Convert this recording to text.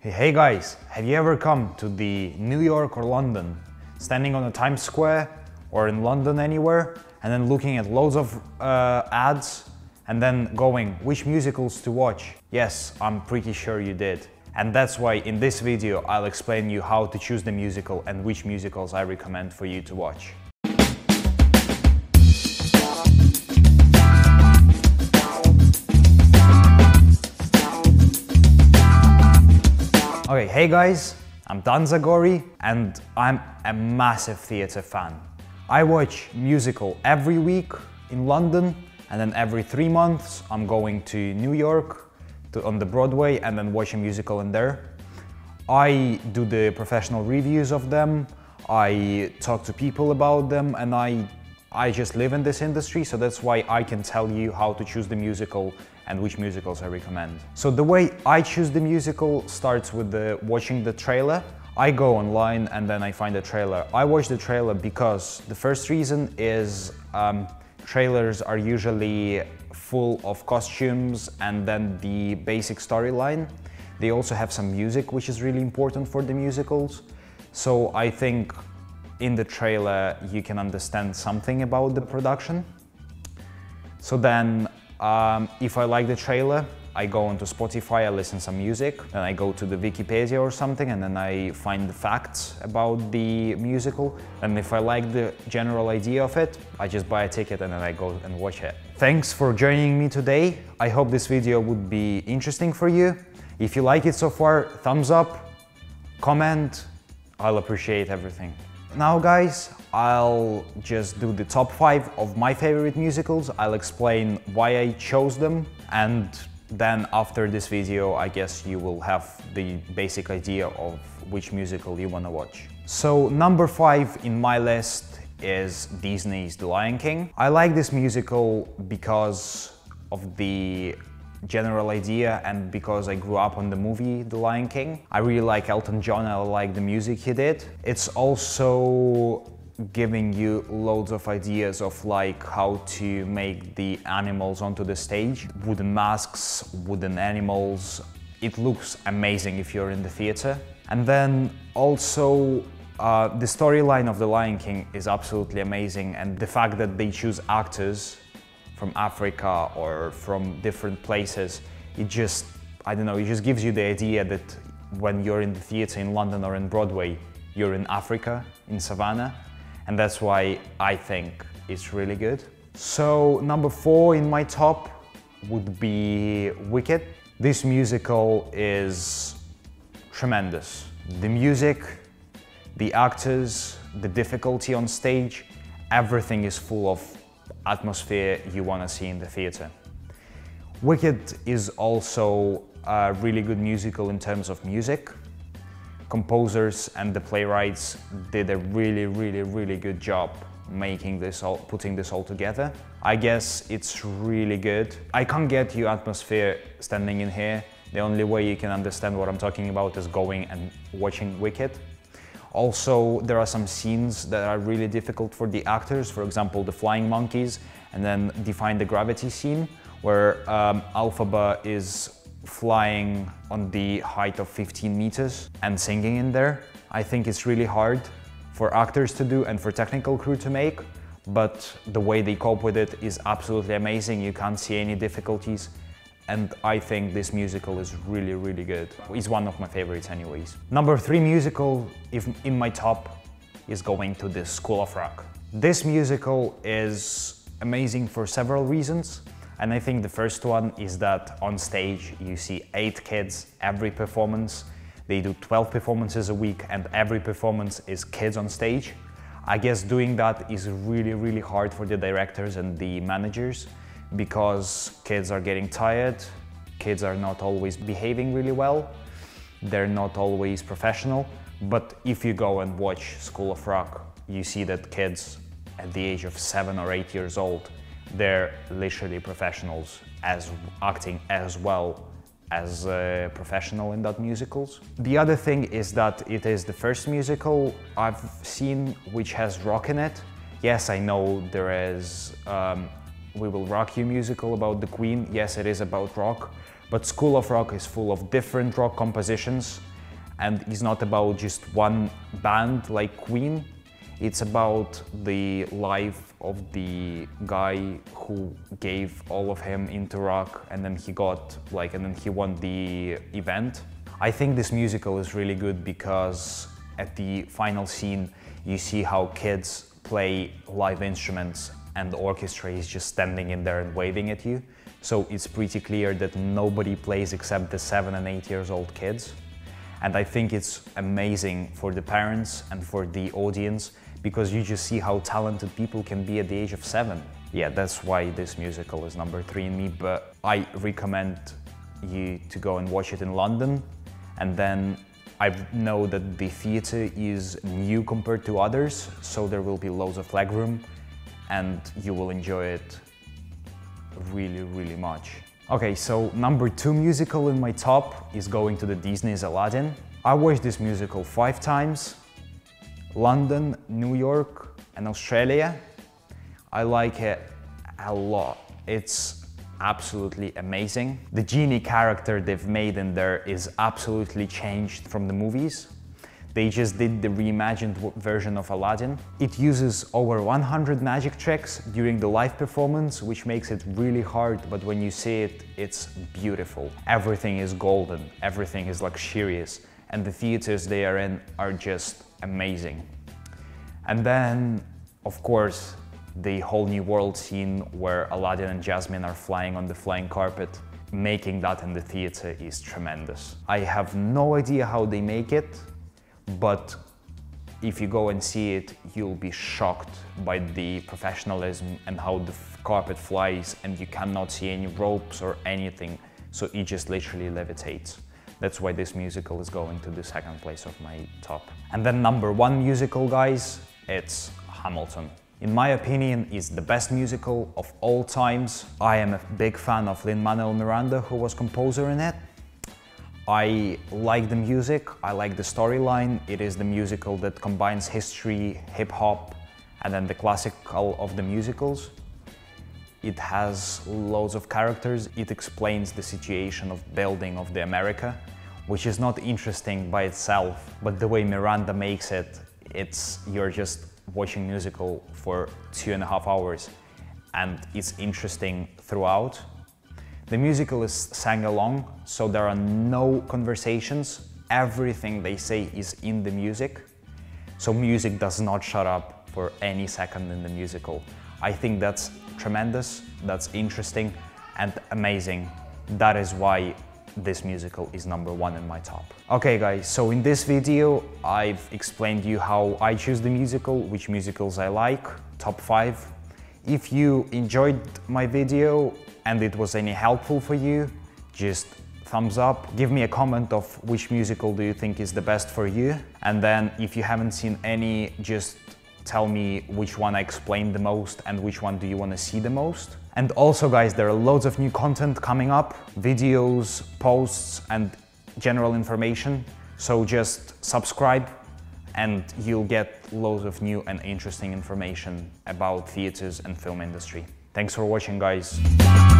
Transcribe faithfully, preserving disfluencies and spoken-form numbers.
Hey guys, have you ever come to the New York or London, standing on the Times Square or in London anywhere, and then looking at loads of uh, ads and then going, which musicals to watch? Yes, I'm pretty sure you did. And that's why in this video I'll explain you how to choose the musical and which musicals I recommend for you to watch. Okay, hey guys, I'm Dan Zagori and I'm a massive theatre fan. I watch musical every week in London, and then every three months I'm going to New York to, on the Broadway, and then watch a musical in there. I do the professional reviews of them, I talk to people about them, and I, I just live in this industry, so that's why I can tell you how to choose the musical and which musicals I recommend. So the way I choose the musical starts with the, watching the trailer. I go online and then I find the trailer. I watch the trailer because the first reason is um, trailers are usually full of costumes and then the basic storyline. They also have some music, which is really important for the musicals. So I think in the trailer you can understand something about the production. So then Um, if I like the trailer, I go onto Spotify, I listen some music, then I go to the Wikipedia or something, and then I find the facts about the musical. And if I like the general idea of it, I just buy a ticket and then I go and watch it. Thanks for joining me today. I hope this video would be interesting for you. If you like it so far, thumbs up, comment, I'll appreciate everything. Now guys, I'll just do the top five of my favorite musicals. I'll explain why I chose them, and then after this video I guess you will have the basic idea of which musical you want to watch. So number five in my list is Disney's The Lion King. I like this musical because of the general idea and because I grew up on the movie The Lion King. I really like Elton John, I like the music he did. It's also giving you loads of ideas of like how to make the animals onto the stage. Wooden masks, wooden animals. It looks amazing if you're in the theater. And then also uh, the storyline of The Lion King is absolutely amazing, and the fact that they choose actors from Africa or from different places, it just, I don't know, it just gives you the idea that when you're in the theater in London or in Broadway, you're in Africa, in Savannah, and that's why I think it's really good. So number four in my top would be Wicked. This musical is tremendous. The music, the actors, the difficulty on stage, everything is full of atmosphere you want to see in the theater. Wicked is also a really good musical in terms of music. Composers and the playwrights did a really, really, really good job making this all, putting this all together. I guess it's really good. I can't get you atmosphere standing in here. The only way you can understand what I'm talking about is going and watching Wicked. Also, there are some scenes that are really difficult for the actors, for example, the flying monkeys, and then Defying the Gravity scene, where um, Elphaba is flying on the height of fifteen meters and singing in there. I think it's really hard for actors to do and for technical crew to make, but the way they cope with it is absolutely amazing. You can't see any difficulties. And I think this musical is really, really good. It's one of my favorites anyways. Number three musical if in my top is going to the School of Rock. This musical is amazing for several reasons. And I think the first one is that on stage you see eight kids every performance. They do twelve performances a week and every performance is kids on stage. I guess doing that is really, really hard for the directors and the managers, because kids are getting tired, kids are not always behaving really well, they're not always professional. But if you go and watch School of Rock, you see that kids at the age of seven or eight years old, they're literally professionals, as acting as well as a professional in that musicals. The other thing is that it is the first musical I've seen which has rock in it. Yes, I know there is um, We Will Rock You musical about the Queen. Yes, it is about rock, but School of Rock is full of different rock compositions, And it's not about just one band like Queen. It's about the life of the guy who gave all of him into rock, and then he got like, and then he won the event. I think this musical is really good because at the final scene, you see how kids play live instruments and the orchestra is just standing in there and waving at you. So it's pretty clear that nobody plays except the seven and eight years old kids. And I think it's amazing for the parents and for the audience because you just see how talented people can be at the age of seven. Yeah, that's why this musical is number three in me, but I recommend you to go and watch it in London. And then I know that the theatre is new compared to others, so there will be loads of legroom and you will enjoy it really, really much. Okay, so number two musical in my top is going to the Disney's Aladdin. I watched this musical five times. London, New York and Australia. I like it a lot. It's absolutely amazing. The genie character they've made in there is absolutely changed from the movies. They just did the reimagined version of Aladdin. It uses over one hundred magic tricks during the live performance, which makes it really hard, but when you see it, it's beautiful. Everything is golden, everything is luxurious, and the theaters they are in are just amazing. And then, of course, the whole new world scene where Aladdin and Jasmine are flying on the flying carpet. Making that in the theater is tremendous. I have no idea how they make it, but if you go and see it, you'll be shocked by the professionalism and how the carpet flies and you cannot see any ropes or anything, so it just literally levitates. That's why this musical is going to the second place of my top. And then number one musical, guys, it's Hamilton. In my opinion, it's the best musical of all times. I am a big fan of Lin-Manuel Miranda, who was composer in it. I like the music, I like the storyline. It is the musical that combines history, hip-hop, and then the classical of the musicals. It has loads of characters. It explains the situation of building of the America, which is not interesting by itself, but the way Miranda makes it, it's you're just watching musical for two and a half hours, and it's interesting throughout. The musical is sang along, so there are no conversations. Everything they say is in the music. So music does not shut up for any second in the musical. I think that's tremendous, that's interesting and amazing. That is why this musical is number one in my top. Okay guys, so in this video I've explained you how I choose the musical, which musicals I like, top five. If you enjoyed my video and it was any helpful for you, just thumbs up. Give me a comment of which musical do you think is the best for you. And then if you haven't seen any, just tell me which one I explained the most and which one do you want to see the most. And also guys, there are loads of new content coming up, videos, posts and general information. So just subscribe and you'll get loads of new and interesting information about theaters and film industry. Thanks for watching guys.